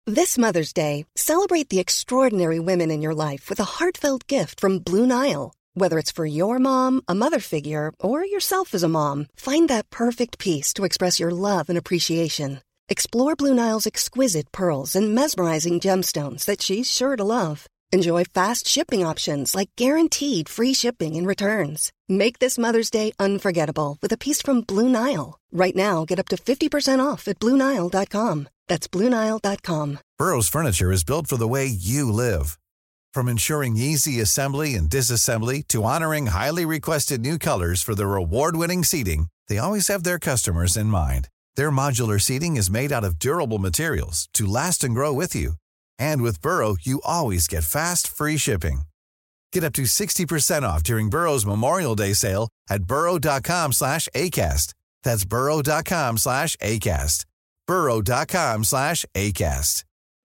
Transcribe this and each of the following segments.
This Mother's Day, celebrate the extraordinary women in your life with a heartfelt gift from Blue Nile. Whether it's for your mom, a mother figure, or yourself as a mom, find that perfect piece to express your love and appreciation. Explore Blue Nile's exquisite pearls and mesmerizing gemstones that she's sure to love. Enjoy fast shipping options like guaranteed free shipping and returns. Make this Mother's Day unforgettable with a piece from Blue Nile. Right now, get up to 50% off at BlueNile.com. That's BlueNile.com. Burrow's furniture is built for the way you live. From ensuring easy assembly and disassembly to honoring highly requested new colors for their award-winning seating, they always have their customers in mind. Their modular seating is made out of durable materials to last and grow with you. And with Burrow, you always get fast, free shipping. Get up to 60% off during Burrow's Memorial Day sale at burrow.com/ACAST. That's burrow.com/ACAST. burrow.com/ACAST.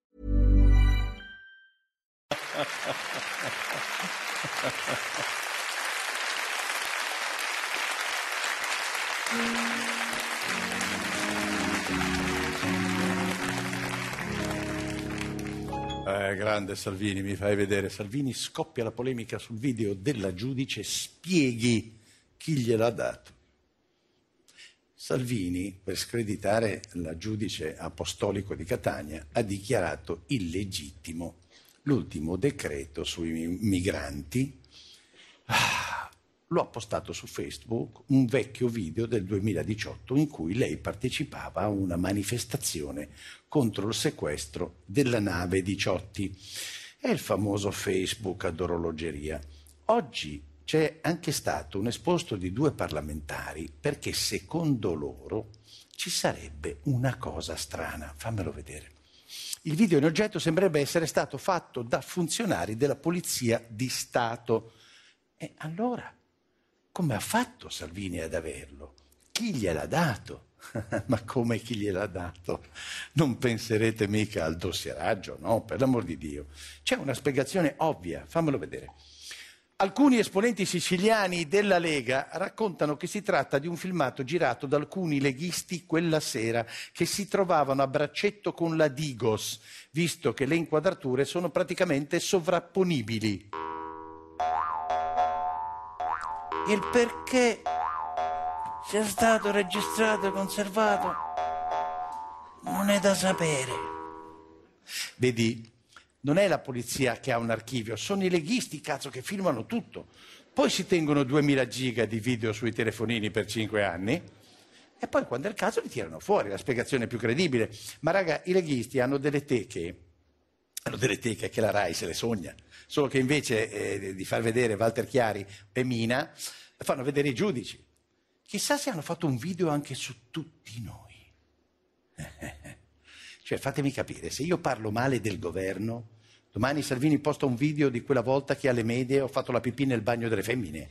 Grande Salvini, mi fai vedere. Salvini, scoppia la polemica sul video della giudice, spieghi chi gliel'ha dato. Salvini, per screditare la giudice apostolico di Catania, ha dichiarato illegittimo l'ultimo decreto sui migranti. Lo ha postato su Facebook un vecchio video del 2018 in cui lei partecipava a una manifestazione contro il sequestro della nave Diciotti. È il famoso Facebook ad orologeria. Oggi c'è anche stato un esposto di 2 parlamentari perché secondo loro ci sarebbe una cosa strana. Fammelo vedere. Il video in oggetto sembrerebbe essere stato fatto da funzionari della Polizia di Stato. E allora, come ha fatto Salvini ad averlo? Chi gliel'ha dato? Ma come chi gliel'ha dato? Non penserete mica al dossieraggio, no? Per l'amor di Dio. C'è una spiegazione ovvia, fammelo vedere. Alcuni esponenti siciliani della Lega raccontano che si tratta di un filmato girato da alcuni leghisti quella sera che si trovavano a braccetto con la Digos, visto che le inquadrature sono praticamente sovrapponibili. Il perché sia stato registrato e conservato non è da sapere. Vedi, non è la polizia che ha un archivio, sono i leghisti, cazzo, che filmano tutto. Poi si tengono 2000 giga di video sui telefonini per 5 anni e poi quando è il caso li tirano fuori, la spiegazione più credibile. Ma raga, i leghisti hanno delle teche che la Rai se le sogna, solo che invece di far vedere Walter Chiari e Mina, fanno vedere i giudici. Chissà se hanno fatto un video anche su tutti noi. Cioè, fatemi capire, se io parlo male del governo, domani Salvini posta un video di quella volta che alle medie ho fatto la pipì nel bagno delle femmine.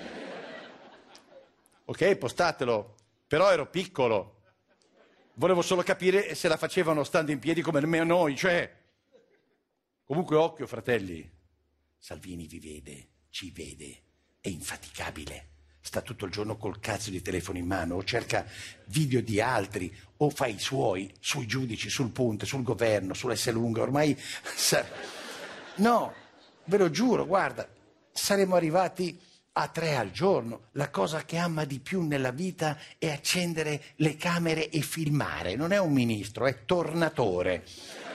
Ok, postatelo, però ero piccolo. Volevo solo capire se la facevano stando in piedi come noi, cioè... Comunque occhio, fratelli, Salvini vi vede, ci vede, è infaticabile. Sta tutto il giorno col cazzo di telefono in mano, o cerca video di altri, o fa i suoi, sui giudici, sul Ponte, sul governo, sull'Esselunga, ormai... No, ve lo giuro, guarda, saremo arrivati a 3 al giorno. La cosa che ama di più nella vita è accendere le camere e filmare. Non è un ministro, è tornatore.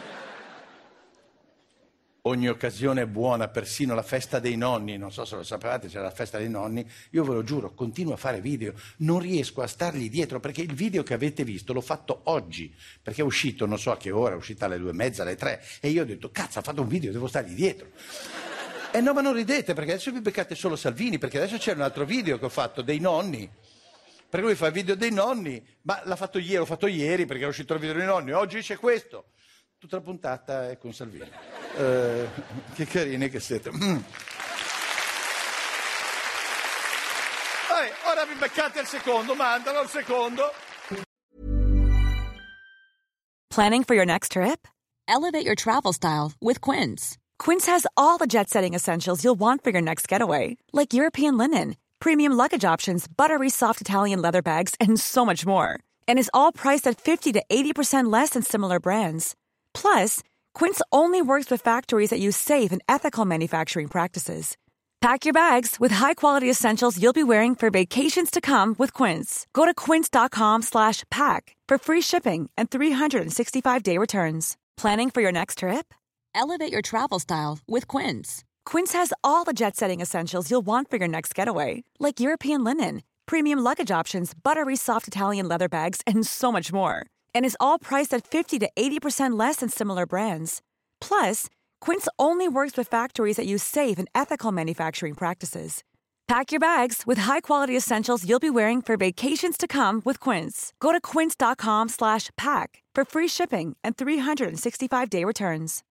Ogni occasione è buona, persino la festa dei nonni, non so se lo sapevate, c'è la festa dei nonni, io ve lo giuro, continuo a fare video, non riesco a stargli dietro, perché il video che avete visto l'ho fatto oggi, perché è uscito, non so a che ora, è uscita alle 2:30, alle 3, e io ho detto, cazzo, ha fatto un video, devo stargli dietro. E no, ma non ridete, perché adesso vi beccate solo Salvini, perché adesso c'è un altro video che ho fatto, dei nonni, perché lui fa il video dei nonni, ma l'ho fatto ieri, perché è uscito il video dei nonni, oggi c'è questo. Tutta la puntata è con Salvini. Che carini che siete. Vabbè, ora vi beccate il secondo, mandalo il secondo. Planning for your next trip? Elevate your travel style with Quince. Quince has all the jet-setting essentials you'll want for your next getaway, like European linen, premium luggage options, buttery soft Italian leather bags, and so much more. And is all priced at 50 to 80% less than similar brands. Plus, Quince only works with factories that use safe and ethical manufacturing practices. Pack your bags with high-quality essentials you'll be wearing for vacations to come with Quince. Go to quince.com/pack for free shipping and 365-day returns. Planning for your next trip? Elevate your travel style with Quince. Quince has all the jet-setting essentials you'll want for your next getaway, like European linen, premium luggage options, buttery soft Italian leather bags, and so much more. And is all priced at 50 to 80% less than similar brands. Plus, Quince only works with factories that use safe and ethical manufacturing practices. Pack your bags with high-quality essentials you'll be wearing for vacations to come with Quince. Go to quince.com/pack for free shipping and 365-day returns.